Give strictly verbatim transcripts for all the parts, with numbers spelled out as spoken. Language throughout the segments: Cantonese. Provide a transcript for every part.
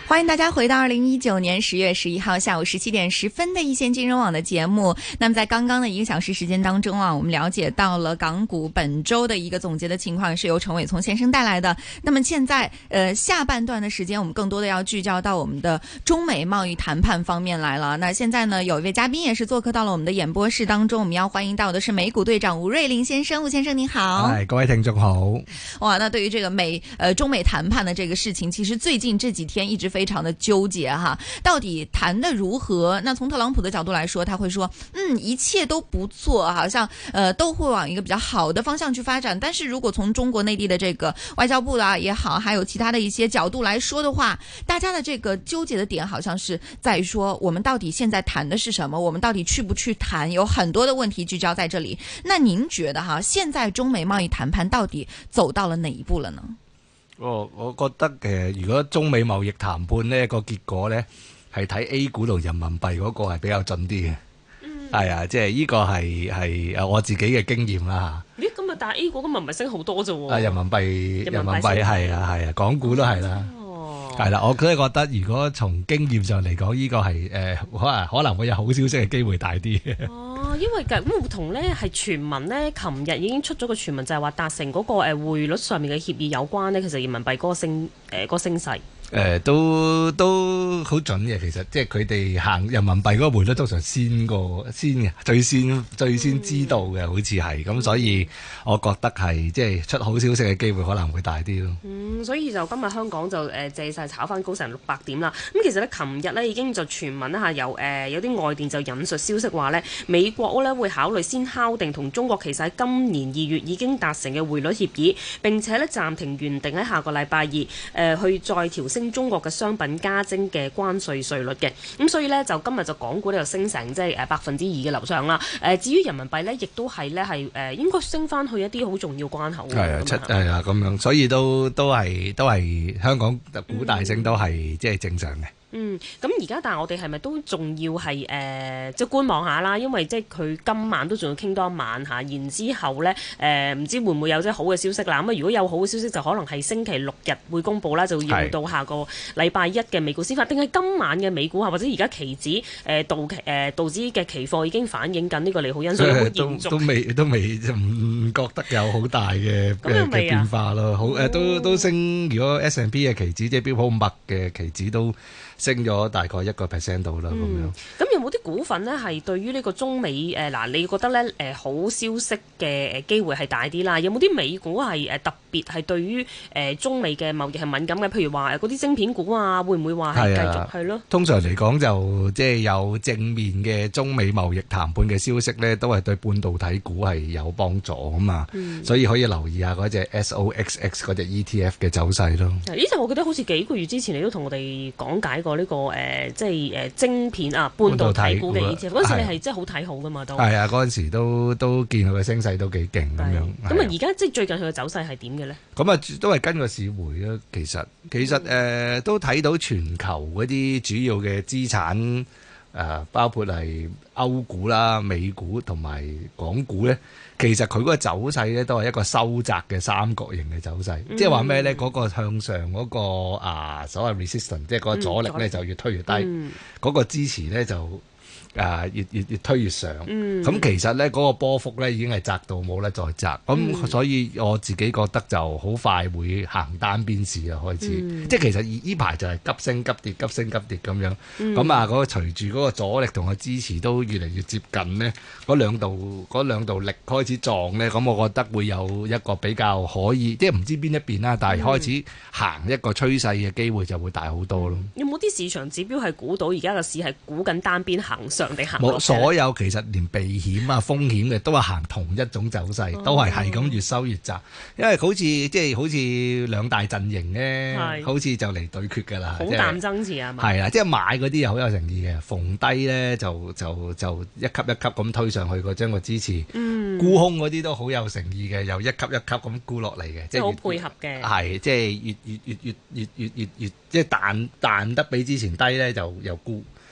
欢迎大家回到二零一九年十月十一号下午十七点十分的一线金融网的节目。那么在刚刚的一个小时时间当中啊，我们了解到了港股本周的一个总结的情况，是由陈伟聪先生带来的。那么现在呃下半段的时间，我们更多的要聚焦到我们的中美贸易谈判方面来了。那现在呢，有一位嘉宾也是做客到了我们的演播室当中，我们要欢迎到的是美股队长吴瑞麟先生。吴先生您好。 嗨，各位听众好。 哇，那对于这个美呃中美谈判的这个事情，其实最近这几天一直非常的纠结哈，到底谈的如何？那从特朗普的角度来说，他会说，嗯，一切都不错，好像呃都会往一个比较好的方向去发展。但是如果从中国内地的这个外交部啊也好，还有其他的一些角度来说的话，大家的这个纠结的点好像是在于说，我们到底现在谈的是什么？我们到底去不去谈？有很多的问题聚焦在这里。那您觉得哈，现在中美贸易谈判到底走到了哪一步了呢？ 我我覺得誒，如果中美貿易談判呢個結果呢，係睇 A 股同人民幣嗰個係比較準啲嘅。嗯，係啊，即係呢個係係誒我自己嘅經驗啦嚇。 咦，咁啊，但係 A 股今日唔係升好多啫喎。 啊，人民幣人民幣係啊係啊，港股都係啦。哦，係啦，我真係覺得如果從經驗上嚟講，呢個係誒可能可能會有好消息嘅機會大啲嘅。 哦，因為咁同呢係傳聞呢，琴日已經出咗個傳聞，就係話達成嗰個誒匯率上面嘅協議有關呢，其實人民幣嗰個升誒、呃嗰個升勢。 誒、呃、都都好準嘅，其實即係佢哋行人民幣嗰個匯率通常先過先嘅，最先最先知道嘅，嗯、好似係咁，所以我覺得係即係出好消息嘅機會可能會大啲咯。 嗯，所以就今日香港就誒、呃、借勢炒翻高成六百點啦。咁其實咧，琴日咧已經就傳聞咧嚇有誒、呃、有啲外電就引述消息話咧，美國咧會考慮先敲定同中國其實喺今年二月已經達成嘅匯率協議，並且咧暫停原定喺下個禮拜二誒、呃、去再調升中國嘅商品加徵嘅關稅稅率嘅，咁所以呢，就今日就港股呢就升成即係誒百分之二嘅樓上啦。誒、呃、至於人民幣呢，亦都係呢係誒應該升翻去一啲好重要關口。 係啊，七係啊咁樣，所以都都係都係香港股大升都係即係正常嘅。 嗯，咁而家但係我哋係咪都仲要係誒、呃、即係觀望下啦？因為即係佢今晚都仲要傾多一晚嚇，然之後呢，誒、呃、唔知會唔會有即係好嘅消息啦？咁啊，如果有好嘅消息就可能係星期六日會公佈啦，就要到下個禮拜一嘅美股先發，定係今晚嘅美股啊，或者而家期指誒、呃、道期誒、呃、道指嘅期貨已經反映緊呢個利好因素，會延續。都都未都未唔覺得有好大嘅嘅變化咯。好誒、呃，都都升。如果 S and P 嘅期指即係標普五百嘅期指都升咗大概一個 percent 度啦，咁、嗯、 樣。咁有冇啲股份呢？係對於呢個中美誒嗱、呃，你覺得咧誒、呃、好消息嘅誒機會係大啲啦？有冇啲美股係誒特別係對於誒、呃、中美嘅貿易係敏感嘅？譬如話誒嗰啲晶片股啊，會唔會話係繼續係咯？ 通常嚟講就即係有正面嘅中美貿易談判嘅消息咧，都係對半導體股係有幫助啊嘛。嗯、所以可以留意下嗰隻 S O X X 嗰隻 E T F 嘅走勢咯。 呢隻我記得好似幾個月之前你都同我哋講解過呢、這個誒、呃，即係誒、呃、晶片啊，半導體股嘅 E T F 嗰陣時你係真係好睇好噶嘛？都係啊， 嗰陣時都都見佢嘅升勢都幾勁咁樣。 咁啊，而家即係最近佢嘅走勢係點嘅咧？ 咁啊，都係跟個市回咯。其實其實誒、呃、都睇到全球嗰啲主要嘅資產誒、呃，包括係歐股啦、美股同埋港股咧。其實佢嗰個走勢咧都係一個收窄嘅三角形嘅走勢，嗯、即係話咩咧？嗰、嗰個向上嗰、嗰個啊所謂 resistance，即係嗰個阻力咧、嗯、就越推越低，嗰、嗯、個支持咧就啊越越越推越上。咁、嗯、其實咧嗰、嗰個波幅咧已經係窄到冇得再窄，咁、嗯、所以我自己覺得就好快會行單邊市啊開始。嗯、即係其實呢排就係急升急跌、急升急跌咁樣。咁、嗯、啊嗰、嗰個隨住嗰個阻力同個支持都越嚟越接近咧，嗰兩度嗰兩度力開始撞咧，咁我覺得會有一個比較可以，即係唔知邊一邊啦，但係開始行一個趨勢嘅機會就會大好多咯。 有冇啲市場指標係估到而家個市係估緊單邊行上定行落？ 冇，所有其實連避險啊風險嘅都係行同一種走勢，哦、都係係咁越收越窄，因為好似即係好似兩大陣營咧，是好似就嚟對決㗎啦， 好淡爭持啊嘛。 係啊，即係買嗰啲又好有誠意嘅，逢低咧就就就一級一級咁推上去個將個支持，嗯、沽空嗰啲都好有誠意嘅，又一級一級咁沽落嚟嘅，即係好配合嘅。 係即係越越越越越越越越即係彈彈得比之前低咧，就又沽。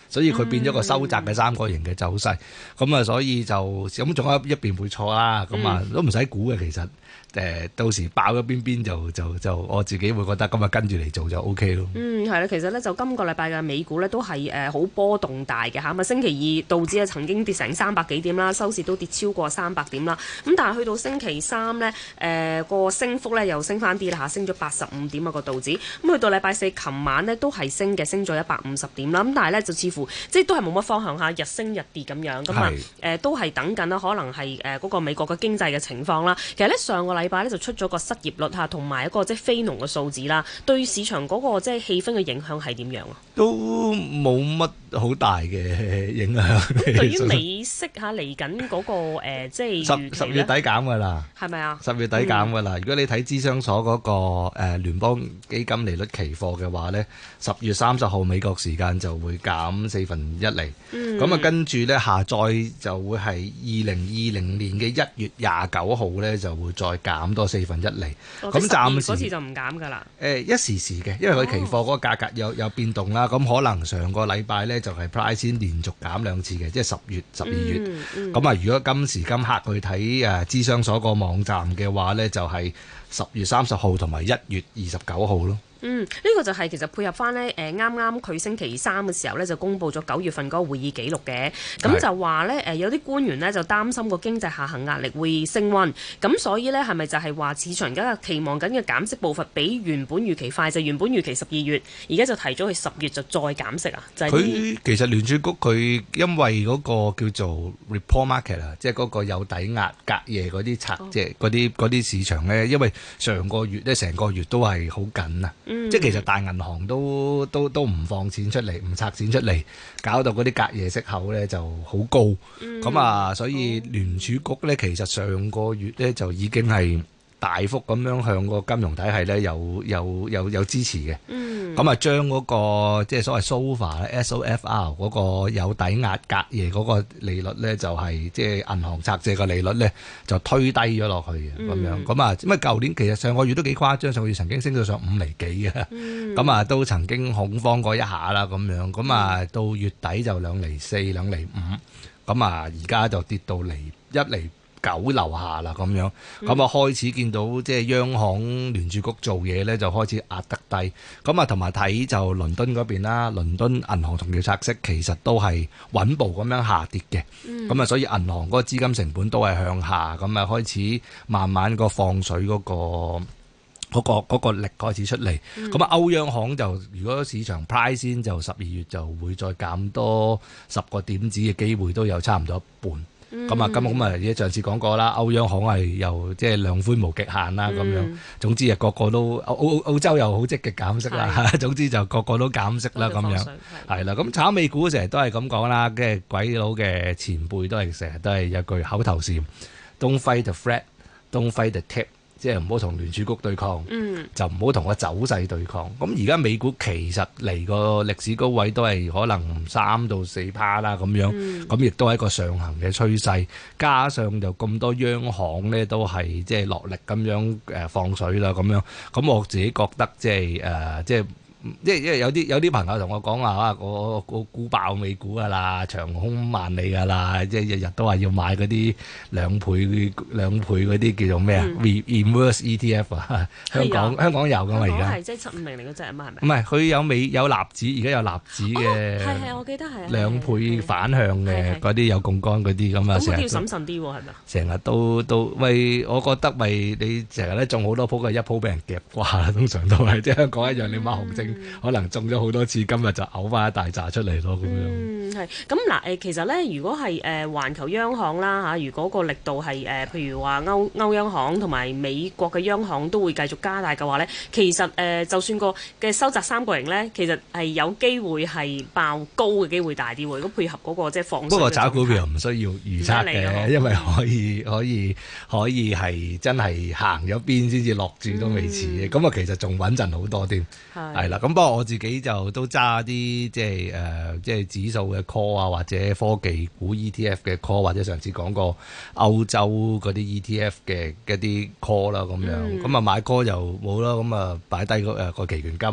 所以佢變咗個收窄嘅三角形嘅走勢。咁啊，所以就咁仲有一邊會錯啦。咁啊，都唔使估嘅其實。誒到時爆咗邊邊就就就我自己會覺得咁啊跟住嚟做就 O K 咯。嗯， 係啦，其實咧就今個禮拜嘅美股咧都係誒好波動大嘅嚇，咁啊星期二道指啊曾經跌成三百幾點啦，收市都跌超過三百點啦。咁但係去到星期三咧誒個升幅咧又升翻啲啦嚇，升咗八十五點啊個道指。咁去到禮拜四琴晚咧都係升嘅，升咗一百五十點啦。咁但係咧就似乎即係都係冇乜方向嚇，日升日跌咁樣咁啊誒都係等緊啦，可能係誒嗰個美國嘅經濟嘅情況啦。其實咧上個禮禮拜咧就出咗個失業率嚇，同埋一個即係非農嘅數字啦，對市場嗰個即係氣氛嘅影響係點樣啊？ 都冇乜好大嘅影響。 對於美息嚇嚟緊嗰個誒，即係十十月底減㗎啦， 係咪啊？ 十月底減㗎啦。嗯、如果你睇資商所嗰個誒聯邦基金利率期貨嘅話咧，十月三十號美國時間就會減四分一厘。咁啊、嗯，跟住咧下載就會係二零二零年嘅一月廿九號咧就會再減多四分一厘。咁、哦、暫時嗰次就唔減㗎啦。誒、 呃、一時時嘅，因為佢期貨嗰個價格有有變動啦。咁、哦、可能上個禮拜咧就係 price 先連續減兩次嘅，即係十月、十二月。咁啊、嗯，嗯、如果今時今刻去睇誒資商所個網站嘅話咧，就係、是、十月三十號同埋一月二十九號咯。 嗯，呢、這個就係其實配合翻呢，誒啱啱佢星期三嘅時候呢，就公布咗九月份嗰個會議記錄嘅，咁是就話呢，誒有啲官員呢，就擔心個經濟下行壓力會升溫，咁所以呢，係咪就係話市場而家期望緊嘅減息步伐比原本預期快？就原本預期十二月，而家就提咗去十月就再減息啊？就係、是、 佢其實聯儲局佢因為嗰個叫做 report market 啊，即係嗰個有抵押隔夜嗰啲拆，即係嗰啲嗰啲市場呢，因為上個月呢，成個月都係好緊啊。嗯、即係其實大銀行都都都唔放錢出嚟，唔拆錢出嚟，搞到嗰啲隔夜息口咧就好高。咁、嗯、啊，所以聯儲局咧其實上個月咧就已經係大幅咁樣向個金融體系咧有有有有支持嘅。咁、嗯、啊，將嗰、嗰個即係所謂 S O F R 咧 S O F R 嗰個有抵押隔夜嗰個利率咧，就係、是、即係銀行拆借個利率咧，就推低咗落去嘅咁、嗯、樣。咁啊，咁啊，舊年其實上個月都幾誇張，上個月曾經升到上五厘幾嘅。咁、嗯、啊，都曾經恐慌過一下啦咁樣。咁啊，到月底就兩厘四、兩厘五。咁啊，而家就跌到嚟一厘九樓下啦咁樣，咁啊、嗯、開始見到即係央行聯儲局做嘢咧，就開始壓得低。咁啊同埋睇就倫敦嗰邊啦，倫敦銀行同業拆息其實都係穩步咁樣下跌嘅。咁啊、嗯、所以銀行嗰個資金成本都係向下，咁啊開始慢慢個放水嗰、嗰個嗰、嗰個嗰個力開始出嚟。咁啊、嗯、歐央行就如果市場 price 先就十二月就會再減多十個點子嘅機會都有差唔多一半。咁啊，咁咁啊，而家上次講過啦，歐央行係又即係量寬無極限啦，咁、嗯、樣。總之啊，個個都澳澳澳洲又好積極減息啦，的總之就個個都減息啦，咁樣。係啦，咁炒美股成日都係咁講啦，跟住鬼佬嘅前輩都係成日都係有句口頭禪 ：Don't fight the Fed, don't fight the tip。即係唔好同聯儲局對抗，嗯、就唔好同個走勢對抗。咁而家美股其實嚟個歷史高位都係可能三到四趴啦咁樣，咁亦、嗯、都係一個上行嘅趨勢。加上就咁多央行咧都係即係落力咁樣誒放水啦咁樣。咁我自己覺得即係誒即係。即係因為有啲有啲朋友同我講話啊，我我估爆美股噶啦，長空萬里噶啦，即係日日都話要買嗰啲兩倍兩倍嗰啲叫做咩啊、嗯、？Reverse E T F 啊，香港的香港有噶嘛而家？係即係七五零零嗰隻啊嘛，係咪？唔係，佢有美有納指，而家有納指嘅。係係、哦，我記得係。兩倍反向嘅嗰啲有槓桿嗰啲咁啊，成日要審慎啲喎，係咪？成日都都喂，我覺得咪你成日咧中好多鋪嘅，一鋪俾人夾掛啦，通常都係即係香港一樣，你買紅證。可能中咗好多次，今日就嘔翻一大紮出嚟咯，咁樣。嗯，係。咁嗱，誒，其實咧，如果係誒環球央行啦嚇，如果個力度係誒、呃，譬如話歐歐央行同埋美國嘅央行都會繼續加大嘅話咧，其實誒、呃，就算個嘅收窄三角形咧，其實係有機會係爆高嘅機會大啲喎。如果配合嗰、那個即係放水。不過炒股票唔需要預測嘅，因為可以可以可以係真係行咗邊先至落注都未遲嘅。咁啊、嗯，其實仲穩陣好多添。係。係啦。咁不過我自己就都揸啲即係誒、呃、即係指數嘅 call 啊，或者科技股 E T F 嘅 call，或者上次講過歐洲嗰啲 E T F 嘅一啲 call 啦咁樣。咁啊、嗯、買 call 就冇啦，咁啊擺低個誒個期權金。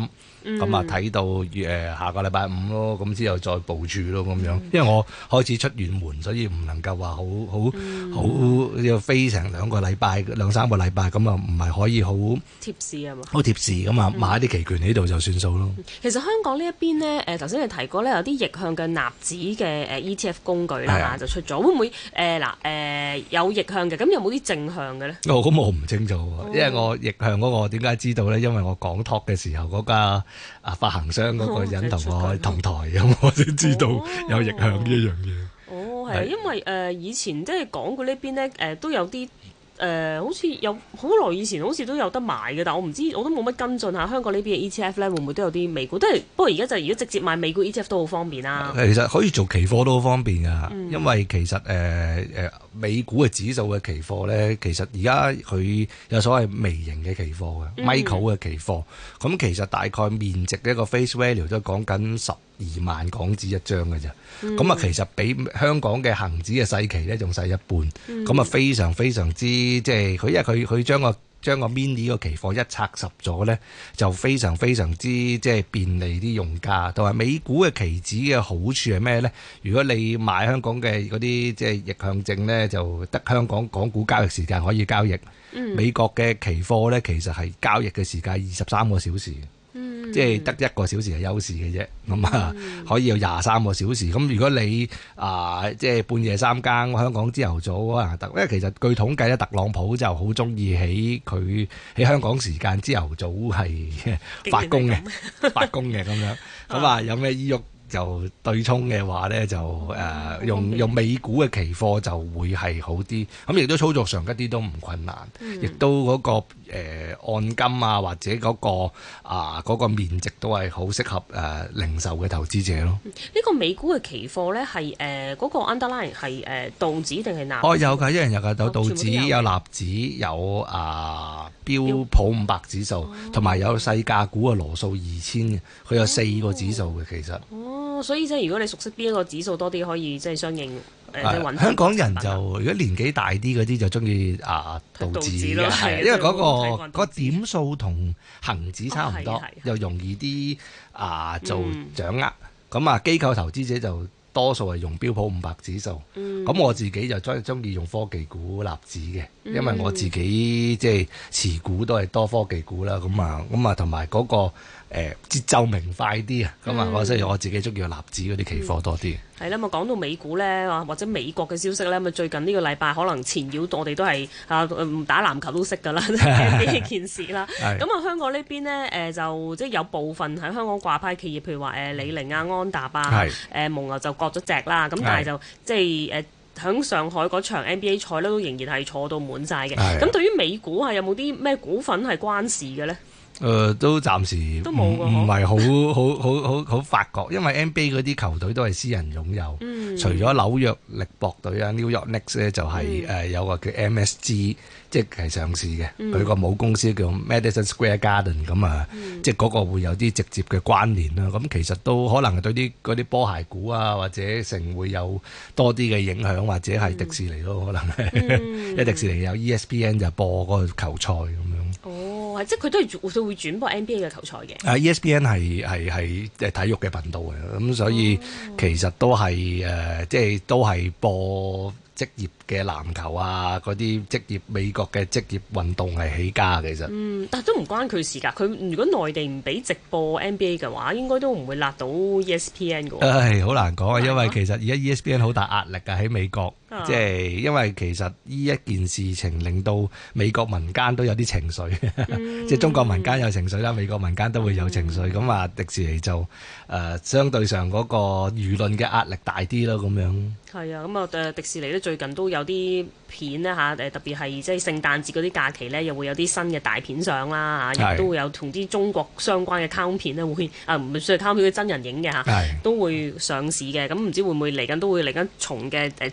咁啊睇到誒下個禮拜五咯，咁之後再部署咯咁樣。因為我開始出遠門，所以唔能夠話好好好要飛成兩個禮拜、兩三個禮拜，咁啊唔係可以好貼士啊嘛， 好貼士咁啊，買啲期權喺度就算數咯。 其實香港呢一邊呢，誒頭先你提過咧，有啲逆向嘅納指嘅誒 E T F 工具啦嚇就出咗，會唔會誒嗱誒有逆向嘅？咁有冇啲正向嘅咧？ 哦，咁我唔清楚喎，因為我逆向嗰個點解知道咧？因為我講 talk 嘅時候，嗰家啊發行商嗰個人同我同台，咁我先知道有逆向呢一樣嘢。 哦，係啊，因為誒以前即係港股呢邊咧誒都有啲。誒、呃、好似有好耐以前好似都有得買嘅，但我唔知我都冇乜跟進下香港呢邊嘅 E T F 咧，會唔會都有啲美股？都係不過而家就如果直接買美股 E T F 都好方便啦。 其實可以做期貨都好方便噶，嗯、因為其實誒誒、呃、美股嘅指數嘅期貨咧，其實而家佢有所謂微型嘅期貨嘅、嗯、micro 嘅期貨，咁其實大概面值嘅一個 face value 都講緊十二萬港紙一張嘅啫。咁啊、嗯，其實比香港嘅恒指嘅細期咧仲細一半，咁啊、嗯、非常非常之即係佢，因為佢佢將個將個 mini 個期貨一拆十咗咧，就非常非常之即係便利啲用家。同埋美股嘅期指嘅好處係咩咧？如果你買香港嘅嗰啲即係逆向證咧，就得香港港股交易時間可以交易。嗯、美國嘅期貨咧，其實係交易嘅時間二十三個小時。即係得一個小時係休市嘅啫，咁啊、嗯、可以有廿三個小時。咁如果你啊、呃、即係半夜三更，香港朝頭早可能得，因為其實據統計咧，特朗普就好中意喺佢喺香港時間朝頭早係發功嘅，發功嘅咁樣。咁啊有咩意欲就對沖嘅話咧，就誒、呃、用用美股嘅期貨就會係好啲。咁亦都操作上一啲都唔困難，亦、嗯、都嗰、那個誒、呃、按金啊或者嗰、那個啊嗰、那個面值都係好適合誒、呃、零售嘅投資者咯。呢、 嗯、個美股嘅期貨咧係誒嗰個 underline 係誒、呃、道指定係納指？ 哦有㗎，一人有㗎，有道指有納指有啊標普五百指數，同埋有細價股嘅羅素二千嘅，佢有四個指數嘅其實。 哦，所以即係如果你熟悉邊一個指數多啲，可以即係相應誒、呃啊、香港人就如果年紀大啲嗰啲就中意啊道指嘅，係因為嗰、嗰個嗰個點數同恒指差唔多，哦、又容易啲啊做掌握。咁、嗯、啊機構投資者就多數係用標普五百指數。咁、嗯、我自己就中中意用科技股納指嘅，因為我自己即係持股都係多科技股啦。咁啊咁啊同埋嗰個。誒節奏明快啲啊，咁啊，我所以我自己中意納指嗰啲期貨多啲。 係啦、嗯，咁啊講到美股咧，或者美國嘅消息咧，咁啊最近呢個禮拜可能纏繞我哋都係啊唔打籃球都識㗎啦，呢件事啦。咁啊香港呢邊呢，誒、呃、就即係有部分喺香港掛牌企業，譬如話誒李寧啊、安踏啊、誒、呃、蒙牛就割咗隻啦，咁但係就即係誒喺上海嗰場 N B A 賽咧，都仍然係坐到滿晒嘅。咁對於美股係有冇啲咩股份係關事嘅咧？ 誒、呃、都暫時都冇唔係好好好好好發覺，因為 N B A 嗰啲球隊都係私人擁有，嗯、除咗紐約力搏隊啊 New York Knicks 咧就係、是、誒、嗯呃、有個叫 M S G， 即係上市嘅，佢個、嗯、母公司叫 Madison Square Garden 咁啊，嗯、即係嗰個會有啲直接嘅關聯啦。咁其實都可能對啲嗰啲波鞋股啊或者成會有多啲嘅影響，或者係迪士尼咯，可能係，嗯、因為迪士尼有 E S P N 就播嗰個球賽咁樣。 哦，即係佢都係佢會轉播 N B A 嘅球賽嘅。 啊 E S P N 係係係誒體育嘅頻道嘅，咁所以其實都係誒、呃，即係都係播職業嘅籃球啊，嗰啲職業美國嘅職業運動係起家其實。嗯， 但係都唔關佢事㗎。佢如果內地唔俾直播 N B A 嘅話，應該都唔會辣到 E S P N 㗎。 唉，好難講啊，因為其實而家 E S P N 好大壓力啊喺美國。即係因為其實呢一件事情令到美國民間都有啲情緒，嗯、即係中國民間有情緒啦，美國民間都會有情緒。咁啊、嗯，迪士尼就誒、呃、相對上嗰個輿論嘅壓力大啲咯，咁樣。係啊，咁啊誒迪士尼咧最近都有啲片咧嚇誒，特別係即係聖誕節嗰啲假期咧，又會有啲新嘅大片上啦嚇，亦是都會有同啲中國相關嘅卡通片咧會啊唔算係卡通片嘅真人影嘅嚇，是都會上市嘅。咁唔知會唔會嚟緊都會嚟緊重嘅誒焦點啦？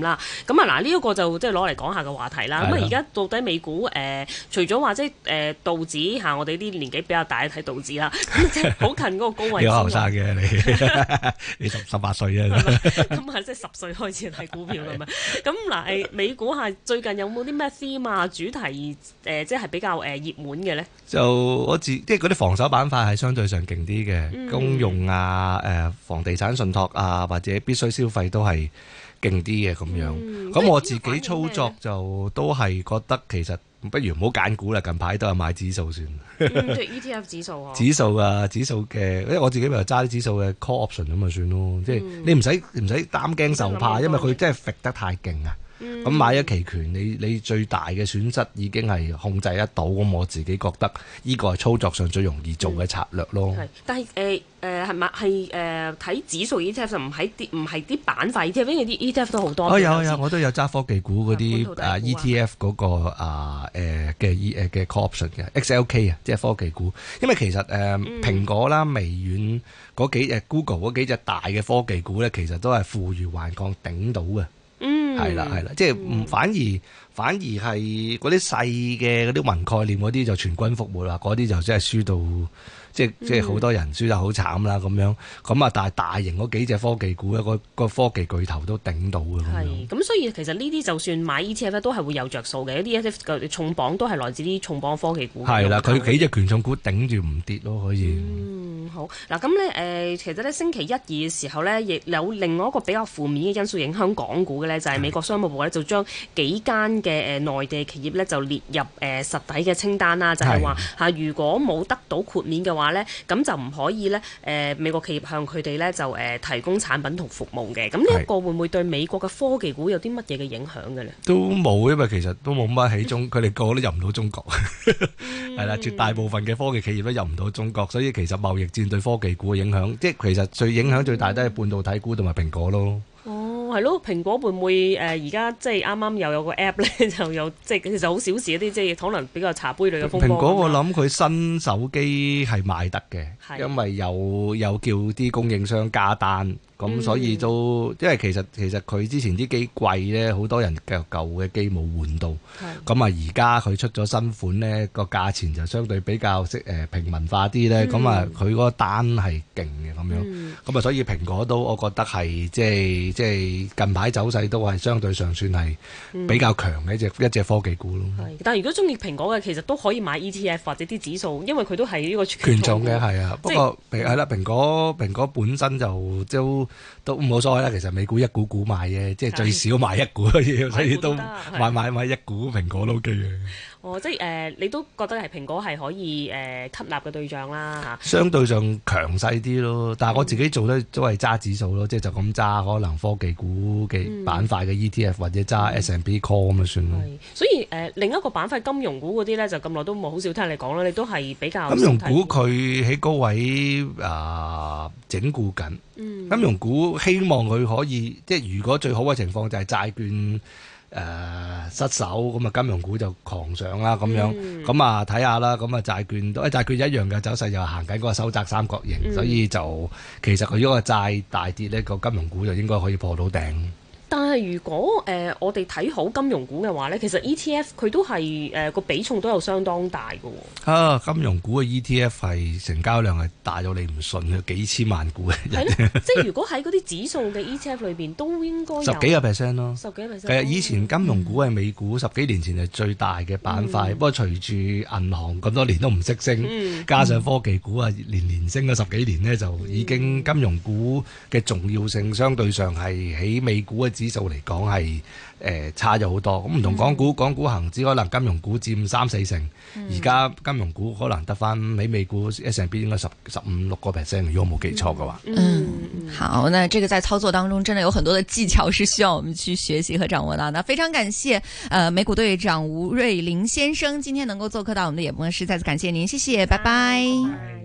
啦。咁啊嗱，呢一個就即係攞嚟講下嘅話題啦。咁啊，而家到底美股誒、呃，除咗話即係誒道指嚇，我哋啲年紀比較大睇道指啦，即係好近嗰個高位。 有後生嘅你，你十十八歲啊？ 咁啊，即係十歲開始睇股票咁樣。咁嗱誒，美股係最近有冇啲咩 theme 啊主題誒、呃，即係比較誒熱門嘅咧？就我自即係嗰啲防守板塊係相對上勁啲嘅，嗯、公用啊、誒房地產信託啊，或者必須消費都係勁啲嘅咁樣。咁、嗯、我自己操作就都係覺得其實不如唔好揀股啦，近排都係買指數算。 嗯，即係 E T F 指數啊。指數啊，指數嘅，因為我自己咪揸啲指數嘅 call option 咁咪算咯。嗯、即係你唔使唔使擔驚受怕，因為佢真係揈得太勁啊。咁、嗯、買咗期權，你你最大嘅損失已經係控制得到，咁我自己覺得呢個係操作上最容易做嘅策略咯。 係、嗯，但係誒誒係咪係誒睇指數 E T F 就唔係啲唔係啲板塊 E T F，因為啲 E T F 都好多。 哦有有，我都有揸科技股嗰啲啊 E T F 嗰、嗰個啊誒嘅 E 誒嘅 call option 嘅 X L K 啊，即係科技股。因為其實誒、呃嗯、蘋果啦、微軟嗰幾隻 Google 嗰幾隻大嘅科技股咧，其實都係負隅頑抗頂到嘅。嗯，係啦係啦，即係唔反而反而係嗰啲細嘅嗰啲雲概念嗰啲就全軍覆沒啦，嗰啲就真係輸到。即係即係好多人輸得好慘啦咁樣，咁啊但係大型嗰幾隻科技股咧，個個科技巨頭都頂到嘅咁樣。係，咁所以其實呢啲就算買 E T F 咧，都係會有着數嘅。一啲 E T F 嘅重磅都係來自啲重磅科技股。係啦，佢幾隻權重股頂住唔跌咯，可以。嗯，好。嗱咁咧誒，其實咧星期一二嘅時候咧，亦有另外一個比較負面嘅因素影響港股嘅咧，就係、是、美國商務部咧就將幾間嘅誒內地企業咧就列入誒、呃、實體嘅清單啦，就係話嚇如果冇得到豁免嘅話咧，咁就唔可以咧誒、呃、美國企業向佢哋咧就誒、呃、提供產品同服務嘅。咁呢一個會唔會對美國嘅科技股有啲乜嘢嘅影響嘅咧？都冇，因為其實都冇乜喺中，佢哋個個都入唔到中國，係啦、嗯，絕大部分嘅科技企業都入唔到中國，所以其實貿易戰對科技股嘅影響，即係其實最影響最大都係半導體股同埋蘋果咯。哦，係咯，蘋果會唔會誒而家即係啱啱又有個 app 咧，就有即係其實好小事一啲，即係可能比較茶杯類嘅風波。蘋果我諗佢新手機係賣得嘅，因為有有叫啲供應商加單。咁、嗯、所以都，因為其實其實佢之前啲機貴咧，好多人舊舊嘅機冇換到。咁啊，而家佢出咗新款咧，個價錢就相對比較適誒平民化啲咧。咁、嗯、啊，佢嗰個單係勁嘅咁樣。咁、嗯、啊，所以蘋果都我覺得係即係即係近排走勢都係相對上算係比較強嘅一隻、嗯、一隻科技股咯。但係如果中意蘋果嘅，其實都可以買 E T F 或者啲指數，因為佢都係呢個權重嘅係啊。不過係啦，蘋果蘋果本身就都。都冇所謂啦，其實美股一股股買嘅，即係最少買一股，所以都買買買一股蘋果都 OK 嘅。哦，即係誒、呃，你都覺得係蘋果係可以誒、呃、吸納嘅對象啦嚇。相對上強勢啲咯，但係我自己做咧都係揸指數咯，即係就咁揸可能科技股嘅板塊嘅 E T F、嗯、或者揸 S and P Call 咁就算咯。所以誒、呃，另一個板塊金融股嗰啲咧，就咁耐都冇好少聽你講啦，你都係比較金融股佢喺高位啊、呃、整固緊。嗯、金融股希望佢可以，即係如果最好嘅情況就係債券誒、呃、失守，咁啊金融股就狂上啦咁樣，咁啊睇下啦，咁啊債券都誒債券一樣嘅走勢，又行緊嗰個收窄三角形，嗯、所以就其實佢如果個債大跌呢，個金融股就應該可以破到頂。但係如果誒、呃、我哋睇好金融股嘅話咧，其實 E T F 佢都係誒個比重都有相當大嘅喎。啊，金融股嘅 E T F 係成交量係大到你唔信嘅，幾千萬股嘅。係咯，即係如果喺嗰啲指數嘅 E T F 裏邊，都應該有十幾個 percent 咯。十幾個 percent。係啊，以前金融股係美股、嗯、十幾年前係最大嘅板塊，嗯、不過隨住銀行咁多年都唔識升，嗯、加上科技股啊年年升咗十幾年呢，就已經金融股嘅重要性相對上係喺美股嘅指數嚟講係誒差咗好多，咁唔同港股，港股恒指可能金融股佔三四成，而家、嗯、金融股可能得翻喺美股 S and P 應該十十五六個 percent， 如果冇記錯嘅話。嗯，好，那這個在操作當中真的有很多的技巧是需要我們去學習和掌握到的。非常感謝，呃，美股隊長吳瑞麟先生今天能夠做客到我們的演播室，再次感謝您，謝謝，拜拜。拜拜。